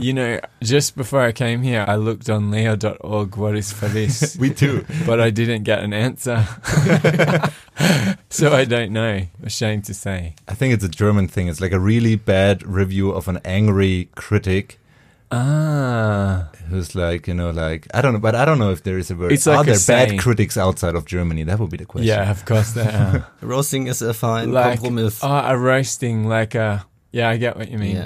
You know, just before I came here, I looked on leo.org, what is feliz? We too. But I didn't get an answer. So I don't know. Ashamed to say. I think it's a German thing. It's like a really bad review of an angry critic. Who's like, I don't know, but I don't know if there is a word. It's like Are there saying. bad critics outside of Germany? That would be the question. Yeah, of course there are. Roasting is a fine Like, compromise. a roasting, like a... Yeah, I get what you mean. Yeah.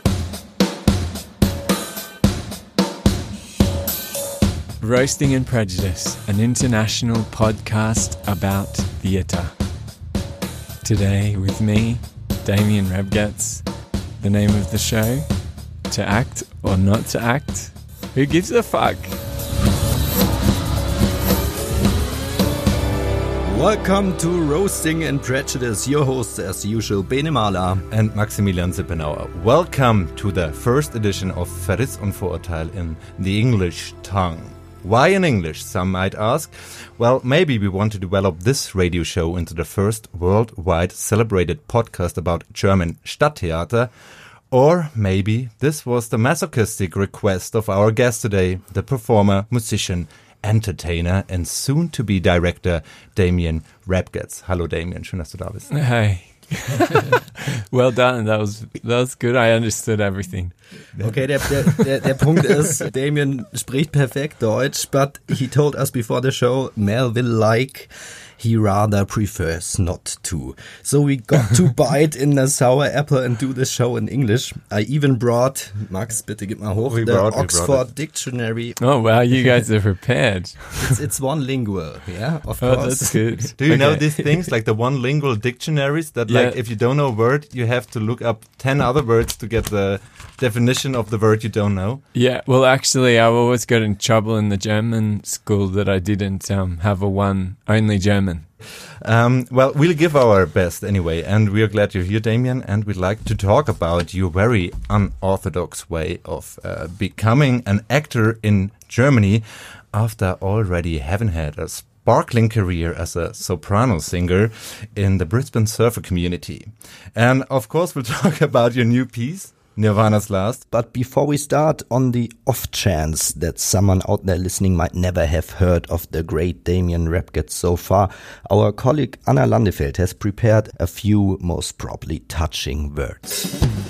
Roasting and Prejudice, an international podcast about theatre. Today with me, Damien Rebgetz. The name of the show, To Act or Not to Act? Who gives a fuck? Welcome to Roasting and Prejudice. Your host, as usual, Bene Mahler. And Maximilian Sippenauer. Welcome to the first edition of Verriss und Vorurteil in the English tongue. Why in English, some might ask? Well, maybe we want to develop this radio show into the first worldwide celebrated podcast about German Stadttheater. Or maybe this was the masochistic request of our guest today, the performer, musician, entertainer and soon-to-be director Damien Rebgetz. Hallo Damien, schön, dass du da bist. Hey. Well done, that was good, I understood everything. Okay, der Punkt ist, Damien spricht perfekt Deutsch, but he told us before the show, Mel will like, he rather prefers not to. So we got to bite in the sour apple and do the show in English. I even brought, Max, bitte gib mal hoch, Oxford Dictionary. Oh wow, you guys are prepared. It's one lingual, yeah, of Oh, course. that's good. Do you know these things, like the one lingual dictionaries that like if you don't know a word, you have to look up 10 other words to get the definition of the word you don't know? Yeah, well actually I always got in trouble in the German school that I didn't have only German. Well, we'll give our best anyway, and we're glad you're here, Damien, and we'd like to talk about your very unorthodox way of becoming an actor in Germany after already having had a sparkling career as a soprano singer in the Brisbane surfer community. And of course, we'll talk about your new piece, Nirvana's Last. But before we start, on the off chance that someone out there listening might never have heard of the great Damien Rebgetz so far, our colleague Anna Landefeld has prepared a few most probably touching words.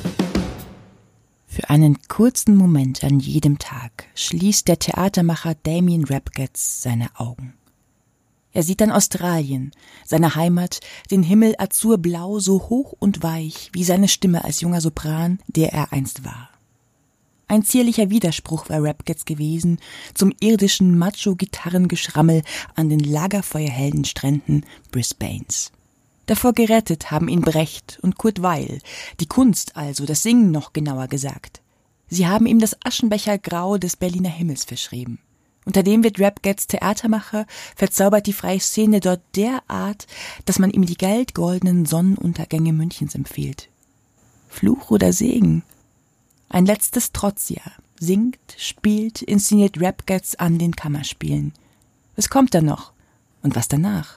Für einen kurzen Moment an jedem Tag schließt der Theatermacher Damien Rebgetz seine Augen. Er sieht dann Australien, seine Heimat, den Himmel azurblau, so hoch und weich wie seine Stimme als junger Sopran, der er einst war. Ein zierlicher Widerspruch war Rebgetz gewesen zum irdischen Macho-Gitarrengeschrammel an den lagerfeuerhellen Stränden Brisbanes. Davor gerettet haben ihn Brecht und Kurt Weill, die Kunst also, das Singen noch genauer gesagt. Sie haben ihm das Aschenbechergrau des Berliner Himmels verschrieben. Unter dem wird Rebgetz Theatermacher, verzaubert die freie Szene dort derart, dass man ihm die goldenen Sonnenuntergänge Münchens empfiehlt. Fluch oder Segen? Ein letztes Trotzjahr. Singt, spielt, inszeniert Rebgetz an den Kammerspielen. Was kommt dann noch? Und was danach?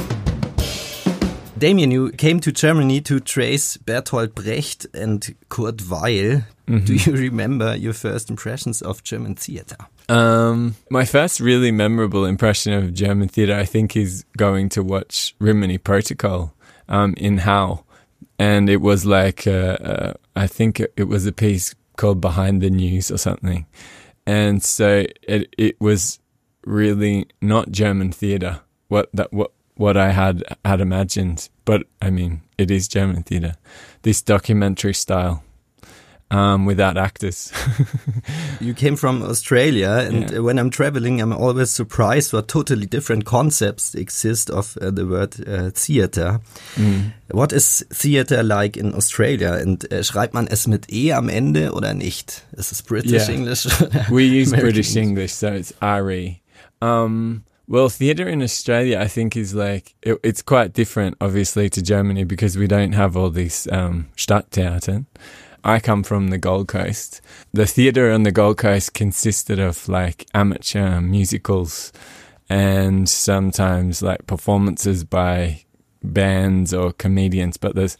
Damien, you came to Germany to trace Bertolt Brecht and Kurt Weill. Mm-hmm. Do you remember your first impressions of German theater? My first really memorable impression of German theatre, I think, is going to watch Rimini Protocol in Hau. And it was like, I think it was a piece called Behind the News or something. And so it was really not German theatre, what I had imagined. But, I mean, it is German theatre. This documentary style. Without actors. You came from Australia, and when I'm traveling, I'm always surprised what totally different concepts exist of the word theater. Mm. What is theater like in Australia? Und schreibt man es mit E am Ende oder nicht? Is it British English? We use British English, so it's RE. Well, theatre in Australia, I think, is like, it's quite different, obviously, to Germany because we don't have all these Stadttheatern. I come from the Gold Coast. The theatre on the Gold Coast consisted of like amateur musicals and sometimes like performances by bands or comedians, but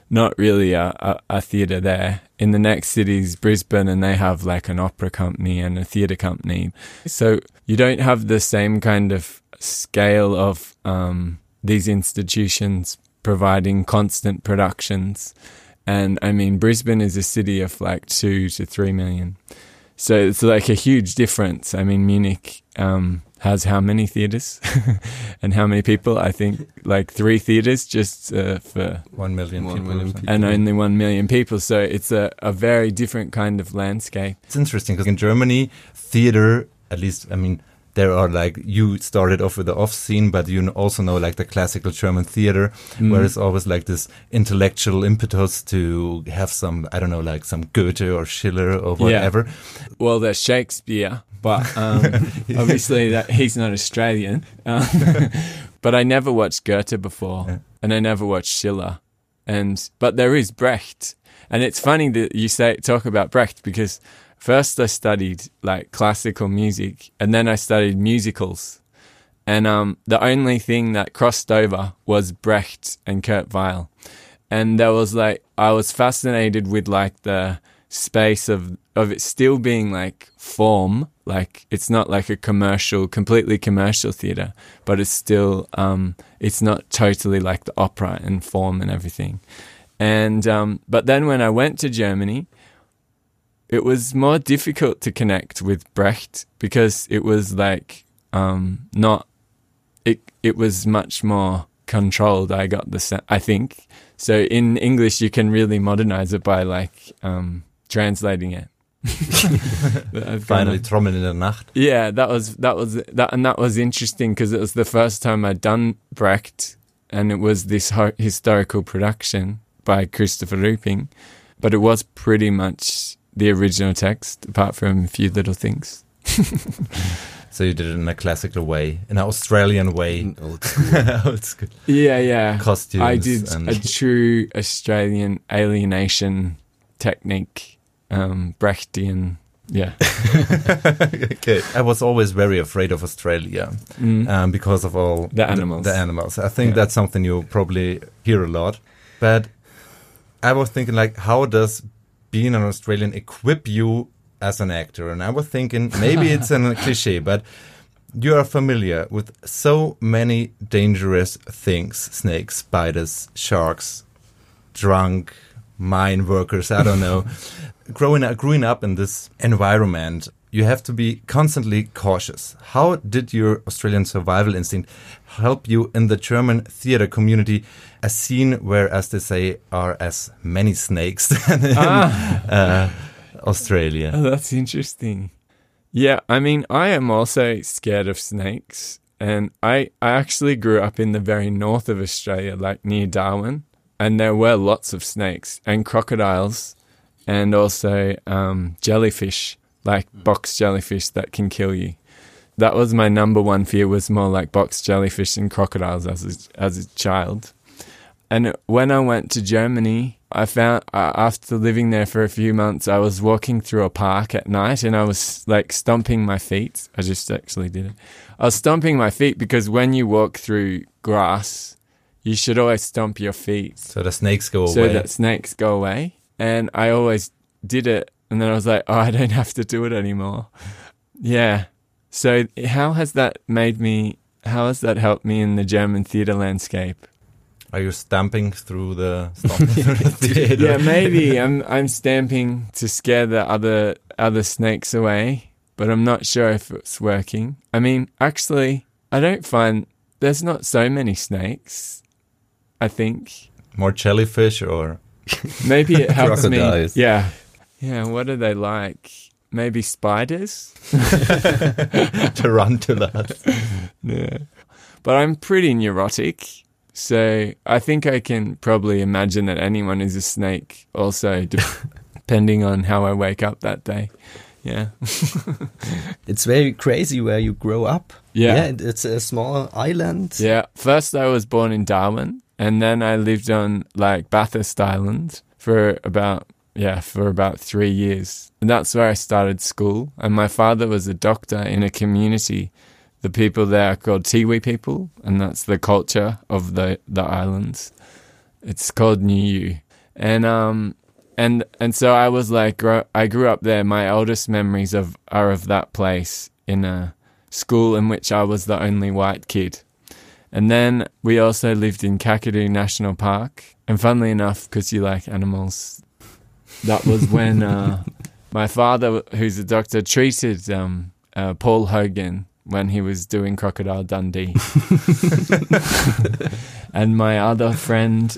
not really a theatre there. In the next city is Brisbane, and they have like an opera company and a theatre company. So you don't have the same kind of scale of these institutions providing constant productions. And I mean, Brisbane is a city of like 2 to 3 million. So it's like a huge difference. I mean, Munich has how many theatres and how many people? I think like 3 theatres just for 1 million people. And only 1 million people. So it's a very different kind of landscape. It's interesting because in Germany, theater, at least, I mean, there are like, you started off with the off scene, but you also know like the classical German theater, where it's always like this intellectual impetus to have some, I don't know, like some Goethe or Schiller or whatever. Yeah. Well, there's Shakespeare, but obviously that he's not Australian. But I never watched Goethe before, and I never watched Schiller. But there is Brecht. And it's funny that you talk about Brecht, because first I studied like classical music, and then I studied musicals. And the only thing that crossed over was Brecht and Kurt Weill. And there was like, I was fascinated with like the space of it still being like form, like it's not like a completely commercial theatre, but it's still, it's not totally like the opera and form and everything. And but then when I went to Germany, it was more difficult to connect with Brecht, because it was like it was much more controlled. I think so. In English, you can really modernize it by like translating it. Finally, Trommeln in der Nacht. Yeah, that was interesting, because it was the first time I'd done Brecht, and it was this historical production by Christopher Ruping, but it was pretty much the original text, apart from a few little things. So you did it in a classical way, in an Australian way. Old school. Old school. Yeah. Costumes. I did a true Australian alienation technique, Brechtian. Yeah. Okay. I was always very afraid of Australia because of all the animals. The animals. I think that's something you probably hear a lot. But I was thinking, like, how does being an Australian equip you as an actor? And I was thinking, maybe it's a cliche, but you are familiar with so many dangerous things: snakes, spiders, sharks, drunk mine workers, I don't know. Growing up in this environment, you have to be constantly cautious. How did your Australian survival instinct help you in the German theater community, a scene where, as they say, are as many snakes than in Australia? Oh, that's interesting. Yeah, I mean, I am also scared of snakes. And I actually grew up in the very north of Australia, like near Darwin. And there were lots of snakes and crocodiles and also jellyfish, like box jellyfish that can kill you. That was my number one fear, was more like box jellyfish and crocodiles as a child. And when I went to Germany, I found after living there for a few months, I was walking through a park at night and I was like stomping my feet. I just actually did it. I was stomping my feet because when you walk through grass, you should always stomp your feet. So the snakes go away. So that snakes go away. And I always did it. And then I was like, oh, I don't have to do it anymore. Yeah. So how has that helped me in the German theatre landscape? Are you stomping through the theater? Yeah, maybe I'm stamping to scare the other snakes away, but I'm not sure if it's working. I mean, actually, I don't find there's not so many snakes, I think. More jellyfish, or maybe it helps me. Crocodiles. Yeah. What are they like? Maybe spiders? tarantulas. Yeah. But I'm pretty neurotic, so I think I can probably imagine that anyone is a snake also, depending on how I wake up that day. Yeah. It's very crazy where you grow up. Yeah. It's a small island. Yeah. First I was born in Darwin, and then I lived on like Bathurst Island for about 3 years. And that's where I started school. And my father was a doctor in a community. The people there are called Tiwi people, and that's the culture of the islands. It's called Niue. And so I was like, I grew up there. My oldest memories are of that place in a school in which I was the only white kid. And then we also lived in Kakadu National Park. And funnily enough, because you like animals, that was when my father, who's a doctor, treated Paul Hogan when he was doing Crocodile Dundee. And my other friend,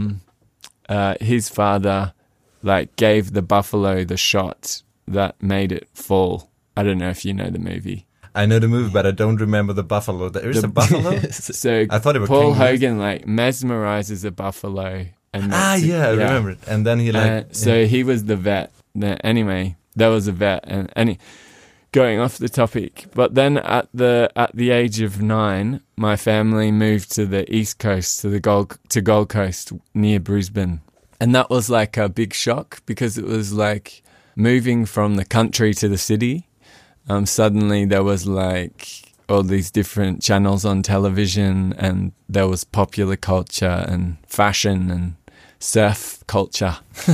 his father, like, gave the buffalo the shot that made it fall. I don't know if you know the movie. I know the movie, but I don't remember the buffalo. There is a buffalo? So I thought it was Paul kangaroos. Hogan, like, mesmerizes a buffalo. And I remember it. And then he so he was the vet. Anyway, there was a vet. And going off the topic, but then at the age of 9, my family moved to the East Coast, to Gold Coast near Brisbane. And that was like a big shock because it was like moving from the country to the city. Suddenly there was like all these different channels on television, and there was popular culture and fashion and surf culture.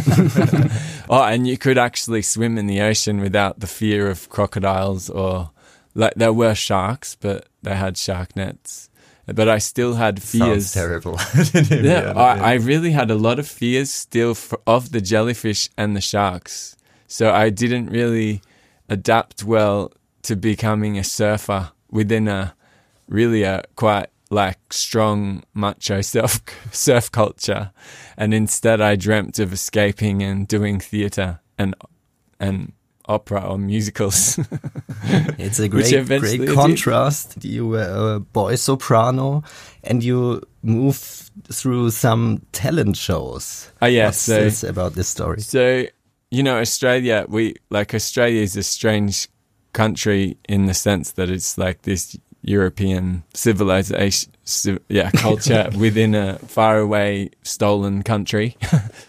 Oh, and you could actually swim in the ocean without the fear of crocodiles, or like there were sharks, but they had shark nets. But I still had fears. Sounds terrible. I really had a lot of fears still of the jellyfish and the sharks. So I didn't really adapt well to becoming a surfer within a quite like strong macho surf culture. And instead I dreamt of escaping and doing theatre and opera or musicals. It's a great contrast. You were a boy soprano and you move through some talent shows. Oh yeah, What's this about this story? So, you know, Australia is a strange country in the sense that it's like this European civilization, culture within a faraway stolen country.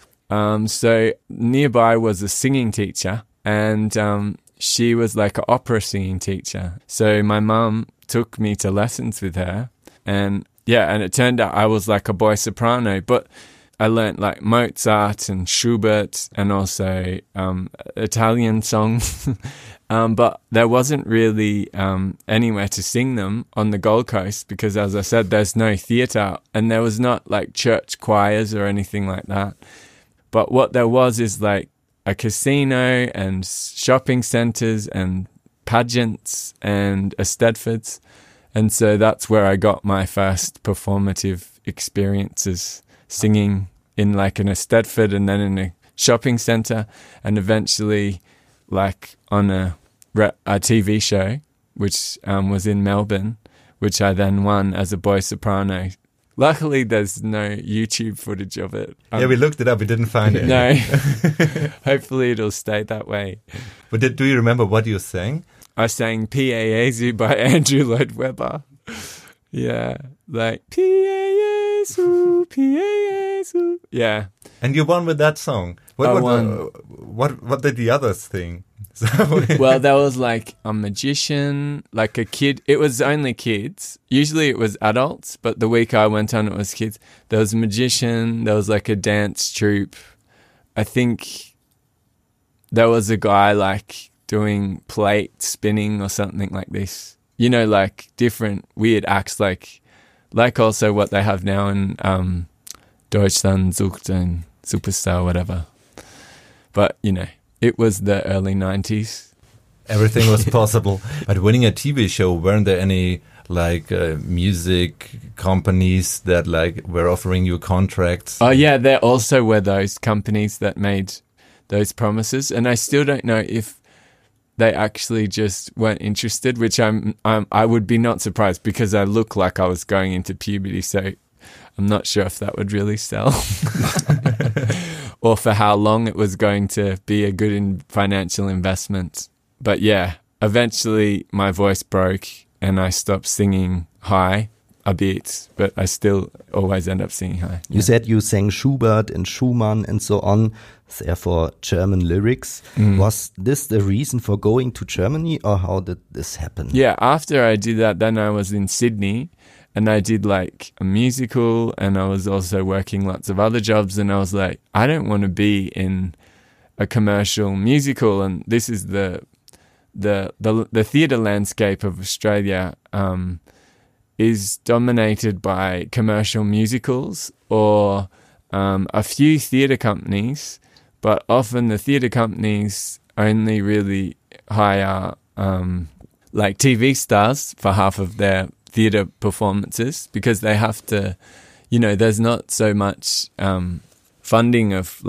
So nearby was a singing teacher, and she was like an opera singing teacher. So my mum took me to lessons with her, and it turned out I was like a boy soprano, but I learnt like Mozart and Schubert and also Italian songs. But there wasn't really anywhere to sing them on the Gold Coast because, as I said, there's no theatre and there was not like church choirs or anything like that. But what there was is like a casino and shopping centres and pageants and Eisteddfods. And so that's where I got my first performative experiences, singing in like an Eisteddfod and then in a shopping centre, and eventually like on a TV show, which was in Melbourne, which I then won as a boy soprano. Luckily, there's no YouTube footage of it. We looked it up. We didn't find it. No. Hopefully, it'll stay that way. But do you remember what you sang? I sang P.A.A.Z.U. by Andrew Lloyd Webber. Yeah, like P.A.A.Z.U., P.A.A.Z.U. Yeah. And you won with that song. What did the others think? Well, there was like a magician, like a kid. It was only kids. Usually it was adults, but the week I went on, it was kids. There was a magician. There was like a dance troupe. I think there was a guy like doing plate spinning or something like this. You know, like different weird acts, like also what they have now in Deutschland sucht ein Superstar, whatever. But, you know, it was the early 90s. Everything was possible. But winning a TV show, weren't there any like music companies that like were offering you contracts? Oh yeah, there also were those companies that made those promises, and I still don't know if they actually just weren't interested, which I would be not surprised because I look like I was going into puberty, so I'm not sure if that would really sell. Or for how long it was going to be a good financial investment. But yeah, eventually my voice broke and I stopped singing high a bit, but I still always end up singing high. You said you sang Schubert and Schumann and so on, therefore German lyrics. Was this the reason for going to Germany, or how did this happen? Yeah, after I did that, then I was in Sydney, and I did like a musical, and I was also working lots of other jobs, and I was like, I don't want to be in a commercial musical, and this is the theatre landscape of Australia is dominated by commercial musicals or a few theatre companies, but often the theatre companies only really hire like TV stars for half of their theatre performances because they have to, there's not so much funding of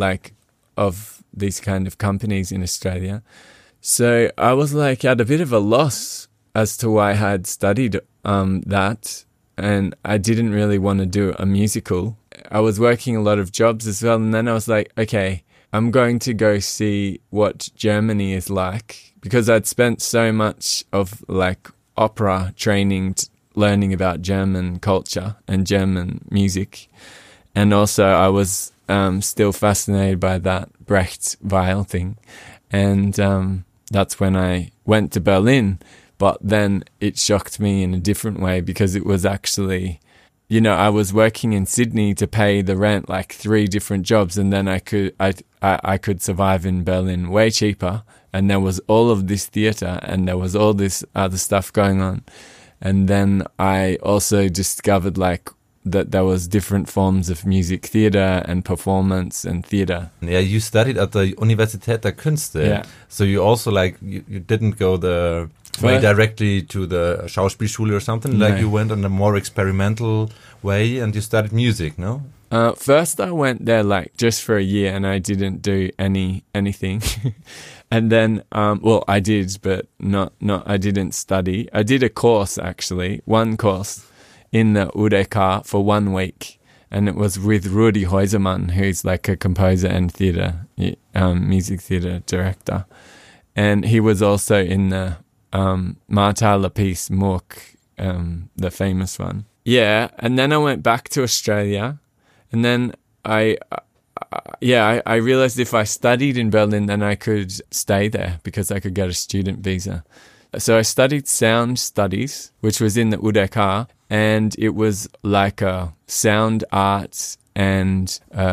these kind of companies in Australia. So I was like at a bit of a loss as to why I had studied that, and I didn't really want to do a musical. I was working a lot of jobs as well, and then I was like, okay, I'm going to go see what Germany is like, because I'd spent so much of like opera training learning about German culture and German music, and also I was still fascinated by that Brecht Weill thing, and that's when I went to Berlin. But then it shocked me in a different way, because it was actually, I was working in Sydney to pay the rent, like 3 different jobs, and then I could survive in Berlin way cheaper. And there was all of this theatre, and there was all this other stuff going on. And then I also discovered like that there was different forms of music theatre and performance and theatre. Yeah, you studied at the Universität der Künste. Yeah. So you also you didn't go the way directly to the Schauspielschule or something. No. Like you went on a more experimental way and you studied music, no? First I went there like just for a year, and I didn't do anything. And then, I did, but I didn't study. I did a course, actually, one course in the UDK for 1 week. And it was with Rudi Häusermann, who's like a composer and theatre, music theatre director. And he was also in the Martha Lapis Mook, the famous one. Yeah, and then I went back to Australia, and then I realized if I studied in Berlin, then I could stay there because I could get a student visa. So I studied sound studies, which was in the UDK, and it was like a sound arts and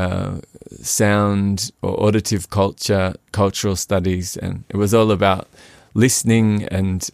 sound or auditive cultural studies, and it was all about listening and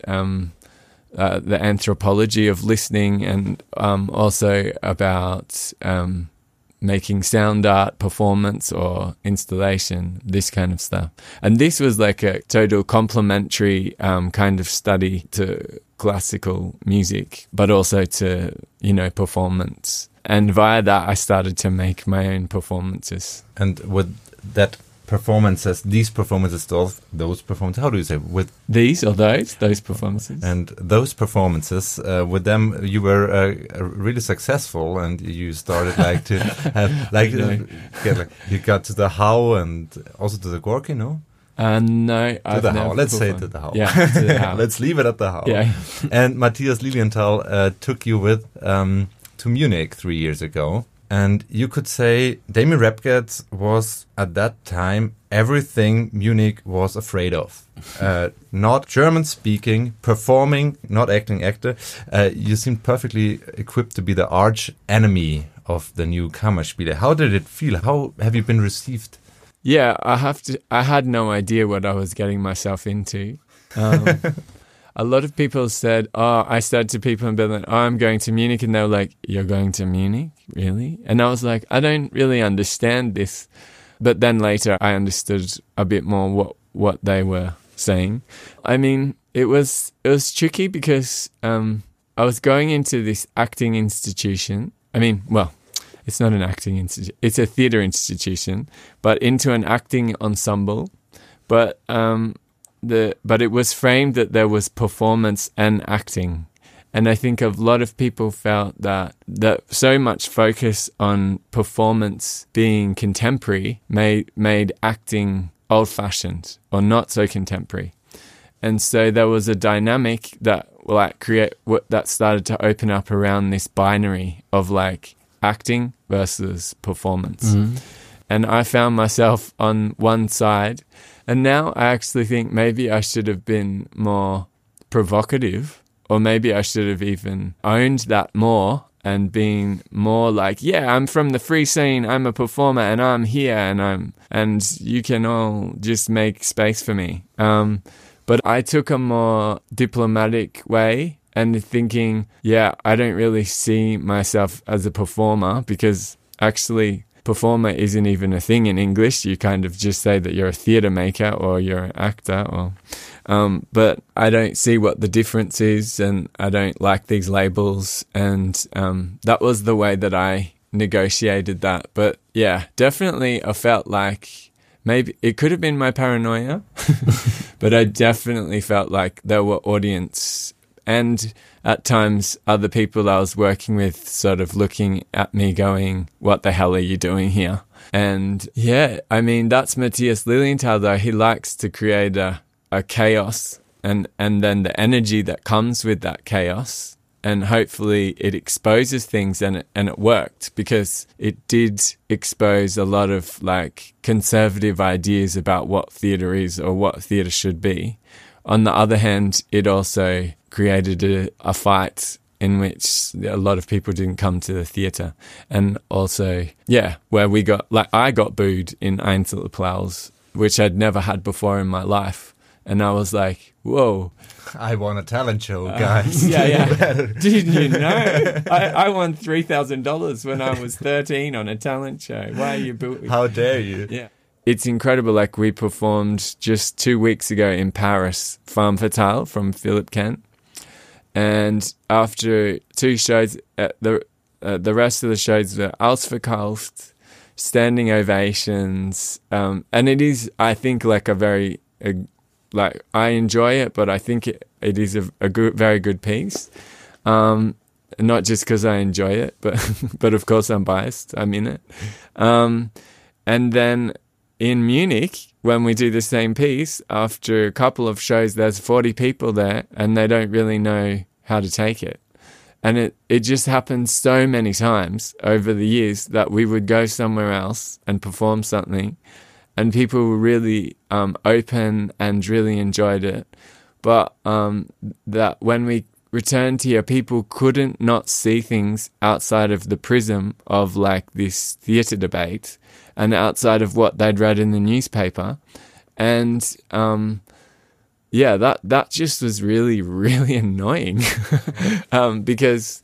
the anthropology of listening, and also about making sound art, performance or installation, this kind of stuff. And this was like a total complementary kind of study to classical music, but also to, performance. And via that, I started to make my own performances. And with that these performances, those performances, how do you say? With these or those performances? And those performances, with them, you were really successful, and you started to have, you got to the How and also to the Gorky, no? No, to the How. Let's say to the How. Yeah, to the How. Let's leave it at the How. Yeah. And Matthias Lilienthal took you with to Munich 3 years ago. And you could say Damien Repgetz was, at that time, everything Munich was afraid of. Not German-speaking, performing, not acting actor. You seemed perfectly equipped to be the arch enemy of the new Kammerspiele. How did it feel? How have you been received? Yeah, I had no idea what I was getting myself into. A lot of people said, I said to people in Berlin, I'm going to Munich. And they were like, you're going to Munich? Really? And I was like, I don't really understand this. But then later I understood a bit more what they were saying. I mean, it was tricky because I was going into this acting institution. I mean, well, it's not an acting institution. It's a theatre institution, but into an acting ensemble. But it was framed that there was performance and acting. And I think a lot of people felt that so much focus on performance being contemporary made acting old-fashioned or not so contemporary. And so there was a dynamic that that started to open up around this binary of like acting versus performance. Mm-hmm. And I found myself on one side. And now I actually think maybe I should have been more provocative, or maybe I should have even owned that more and being more like, yeah, I'm from the free scene, I'm a performer, and I'm here, and you can all just make space for me. But I took a more diplomatic way and thinking, yeah, I don't really see myself as a performer, because actually performer isn't even a thing in English. You kind of just say that you're a theatre maker or you're an actor, or but I don't see what the difference is, and I don't like these labels, and that was the way that I negotiated that. But yeah, definitely I felt like maybe it could have been my paranoia, but I definitely felt like there were audience and at times other people I was working with sort of looking at me going, what the hell are you doing here? And yeah, I mean, that's Matthias Lilienthal though. He likes to create a chaos and then the energy that comes with that chaos. And hopefully it exposes things, and it worked, because it did expose a lot of like conservative ideas about what theatre is or what theatre should be. On the other hand, it also created a fight in which a lot of people didn't come to the theatre. And also, yeah, where I got booed in Einzelapplaus, which I'd never had before in my life. And I was like, whoa. I won a talent show, guys. Yeah. Didn't you know? I won $3,000 when I was 13 on a talent show. Why are you booing? How dare you? Yeah. It's incredible. Like, we performed just 2 weeks ago in Paris, Femme Fatale from Philip Kent. And after 2 shows, the rest of the shows were ausverkauft, standing ovations. And it is, I think, like like, I enjoy it, but I think it is a good, very good piece. Not just because I enjoy it, but of course I'm biased. I'm in it. And then in Munich, when we do the same piece, after a couple of shows, there's 40 people there, and they don't really know how to take it. And it just happened so many times over the years that we would go somewhere else and perform something, and people were really open and really enjoyed it. But that when we returned here, people couldn't not see things outside of the prism of like this theatre debate and outside of what they'd read in the newspaper. And yeah, that just was really, really annoying because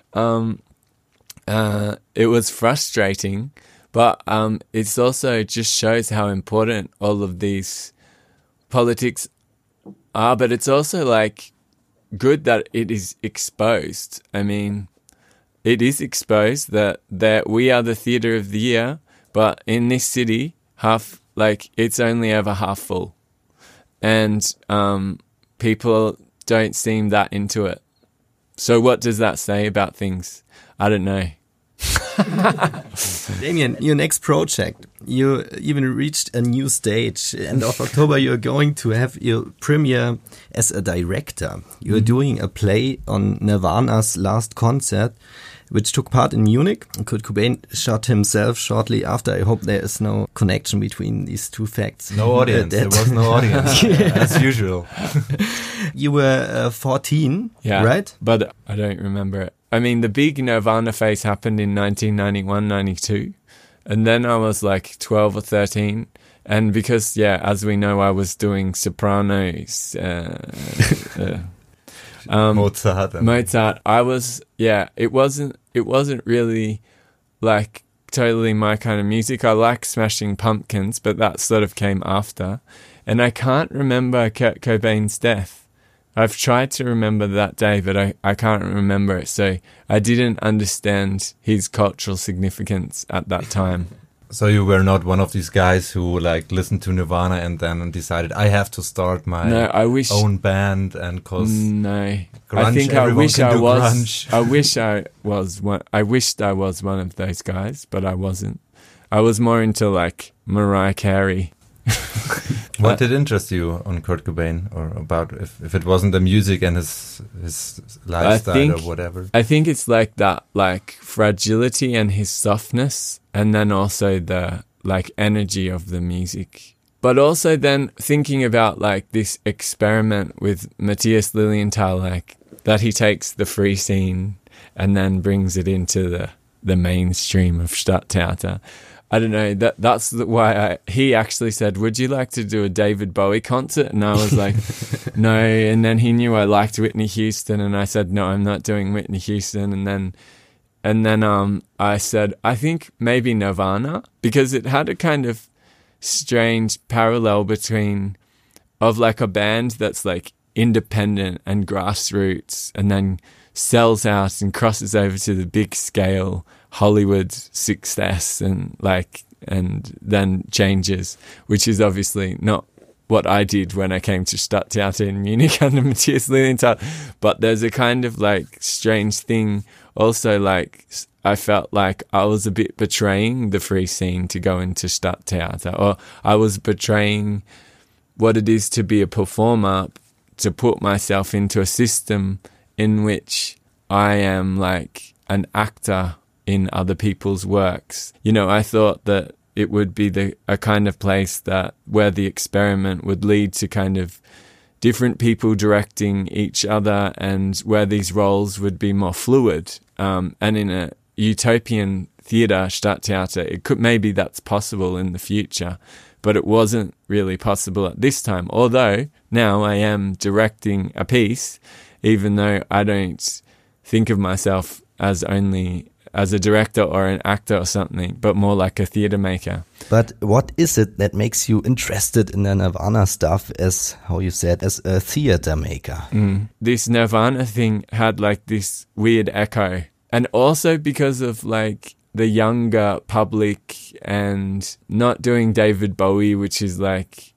it was frustrating. But it's also just shows how important all of these politics are. But it's also like good that it is exposed. I mean, it is exposed that we are the theatre of the year, but in this city, it's only ever half full, and people don't seem that into it. So what does that say about things? I don't know. Damien, your next project, you even reached a new stage. End of October, you're going to have your premiere as a director. You're doing a play on Nirvana's last concert, which took part in Munich. Kurt Cobain shot himself shortly after. I hope there is no connection between these two facts. No audience. There was no audience, as usual. You were 14, right? But I don't remember it. I mean, the big Nirvana phase happened in 1991-92, and then I was like 12 or 13. And because, as we know, I was doing Sopranos, Mozart. I was, it wasn't really like totally my kind of music. I like Smashing Pumpkins, but that sort of came after. And I can't remember Kurt Cobain's death. I've tried to remember that day, but I can't remember it. So I didn't understand his cultural significance at that time. So you were not one of these guys who like listened to Nirvana and then decided I have to start my own band and cause grunge, I think I wish I was. I wished I was one of those guys, but I wasn't. I was more into like Mariah Carey. What did interest you on Kurt Cobain, or about if it wasn't the music and his lifestyle or whatever? I think it's like that, like fragility and his softness, and then also the like energy of the music. But also then thinking about like this experiment with Matthias Lilienthal, like that he takes the free scene and then brings it into the mainstream of Stadttheater. I don't know, that's why he actually said, would you like to do a David Bowie concert? And I was like, no. And then he knew I liked Whitney Houston, and I said, no, I'm not doing Whitney Houston. And then I said, I think maybe Nirvana, because it had a kind of strange parallel between of like a band that's like independent and grassroots and then sells out and crosses over to the big scale Hollywood success and then changes, which is obviously not what I did when I came to Stadttheater in Munich under Matthias Lilienthal. But there's a kind of like strange thing also, like I felt like I was a bit betraying the free scene to go into Stadttheater, or I was betraying what it is to be a performer, to put myself into a system in which I am like an actor in other people's works. You know, I thought that it would be a kind of place where the experiment would lead to kind of different people directing each other, and where these roles would be more fluid. And in a utopian theatre, Stadttheater, maybe that's possible in the future, but it wasn't really possible at this time. Although now I am directing a piece, even though I don't think of myself as a director or an actor or something, but more like a theatre maker. But what is it that makes you interested in the Nirvana stuff, as how you said, as a theatre maker? This Nirvana thing had like this weird echo, and also because of like the younger public and not doing David Bowie, which is like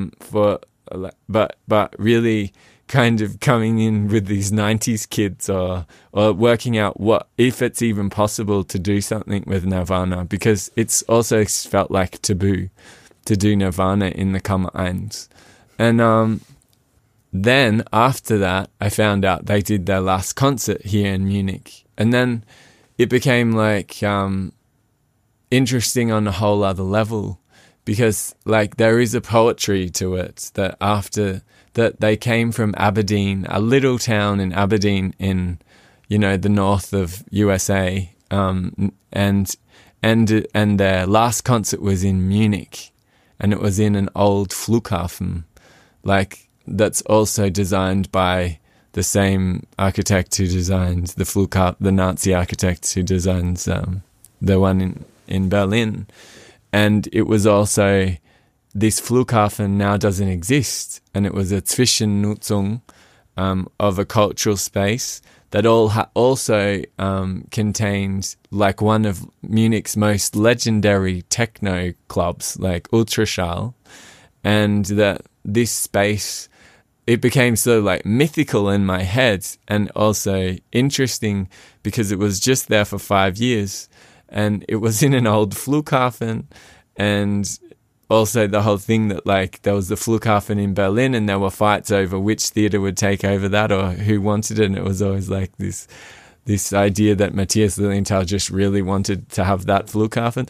but really kind of coming in with these 90s kids, or working out what if it's even possible to do something with Nirvana, because it's also felt like taboo to do Nirvana in the Kammer 1. And then after that I found out they did their last concert here in Munich, and then it became like interesting on a whole other level, because like there is a poetry to it, that after that they came from Aberdeen, a little town in Aberdeen in, you know, the north of USA, and their last concert was in Munich, and it was in an old Flughafen, like that's also designed by the same architect who designed the Flughafen, the Nazi architect who designs the one in Berlin. And it was also, this Flughafen now doesn't exist, and it was a Zwischennutzung of a cultural space that also contained like one of Munich's most legendary techno clubs, like Ultraschall, and that this space, it became so like mythical in my head, and also interesting because it was just there for 5 years, and it was in an old Flughafen, and also the whole thing that like there was the Flughafen in Berlin, and there were fights over which theatre would take over that or who wanted it, and it was always like this idea that Matthias Lilienthal just really wanted to have that Flughafen.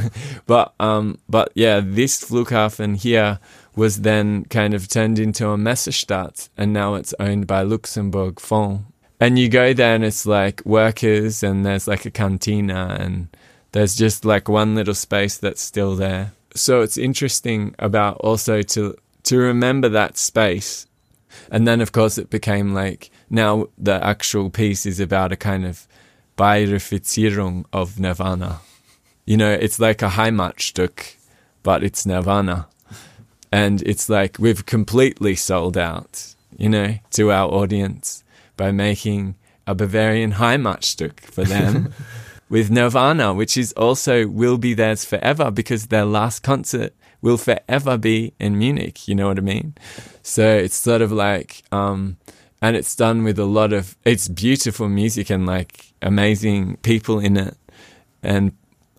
but yeah, this Flughafen here was then kind of turned into a Messestadt, and now it's owned by Luxembourg Fonds. And you go there and it's like workers, and there's like a cantina, and there's just like one little space that's still there. So it's interesting about also to remember that space. And then of course it became like, now the actual piece is about a kind of Bayerifizierung of Nirvana. You know, it's like a Heimatstück, but it's Nirvana. And it's like we've completely sold out, you know, to our audience by making a Bavarian Heimatstück for them with Nirvana, which is also will be theirs forever, because their last concert will forever be in Munich, you know what I mean? So it's sort of like, and it's done with it's beautiful music and like amazing people in it. And,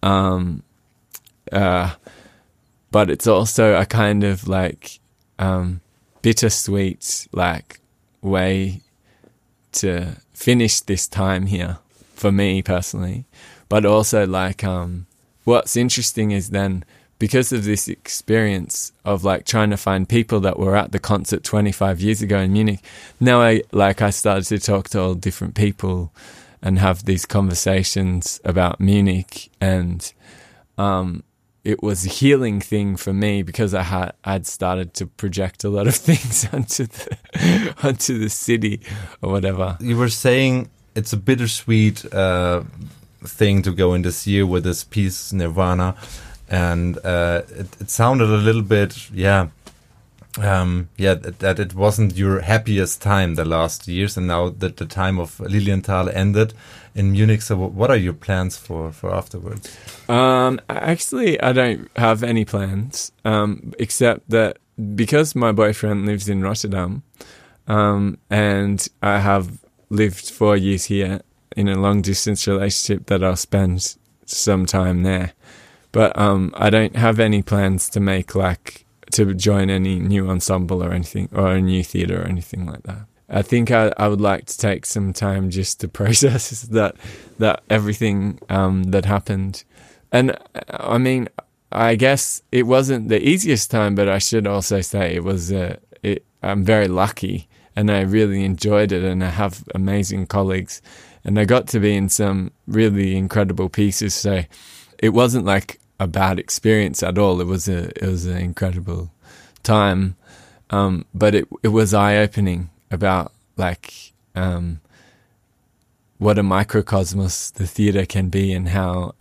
but it's also a kind of like, bittersweet, like way to finish this time here for me personally. But also like, what's interesting is then, because of this experience of like trying to find people that were at the concert 25 years ago in Munich, now I started to talk to all different people, and have these conversations about Munich. And it was a healing thing for me because I'd started to project a lot of things onto the city or whatever. You were saying it's a bittersweet thing to go in this year with this piece Nirvana, and it sounded a little bit, that it wasn't your happiest time the last years, and now that the time of Lilienthal ended in Munich. So what are your plans for afterwards? Actually, I don't have any plans, except that because my boyfriend lives in Rotterdam, and I have lived 4 years here in a long-distance relationship, that I'll spend some time there. But I don't have any plans to make, like, to join any new ensemble or anything, or a new theatre or anything like that. I think I would like to take some time just to process that everything that happened. And I mean, I guess it wasn't the easiest time, but I should also say it was. I'm very lucky, and I really enjoyed it, and I have amazing colleagues, and I got to be in some really incredible pieces. So it wasn't like a bad experience at all. It was an incredible time, but it was eye-opening about like what a microcosmos the theatre can be, and how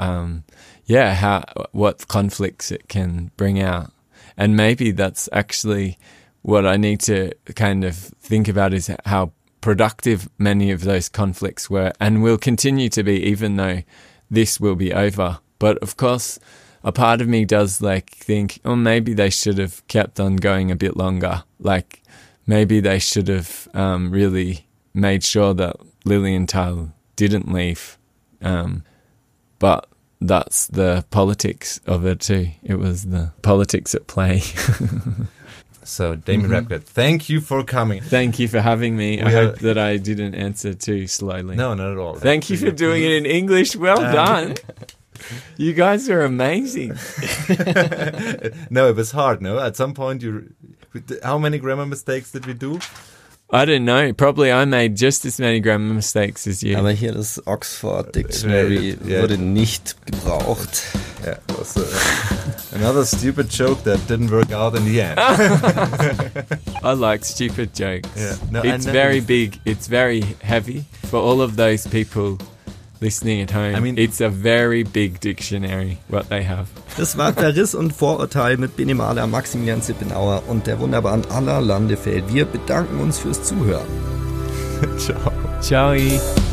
what conflicts it can bring out. And maybe that's actually what I need to kind of think about, is how productive many of those conflicts were and will continue to be, even though this will be over. But of course, a part of me does like think, oh, maybe they should have kept on going a bit longer. Like maybe they should have really made sure that Lilienthal didn't leave. But that's the politics of it too. It was the politics at play. So, Damien Repget, thank you for coming. Thank you for having me. I hope that I didn't answer too slowly. No, not at all. Thank you for doing it in English. Well done. You guys are amazing. No, it was hard, no? At some point, how many grammar mistakes did we do? I don't know. Probably I made just as many grammar mistakes as you. Aber hier das Oxford Dictionary wurde nicht gebraucht. Yeah, it was another stupid joke that didn't work out in the end. I like stupid jokes. Yeah. No, it's very big. It's very heavy. For all of those people listening at home, I mean, it's a very big dictionary, what they have. Das war Verriss und Vorurteil mit Bene Mahler, Maximilian Zippenauer und der wunderbaren Anna Landefeld. Wir bedanken uns fürs Zuhören. Ciao. Ciao.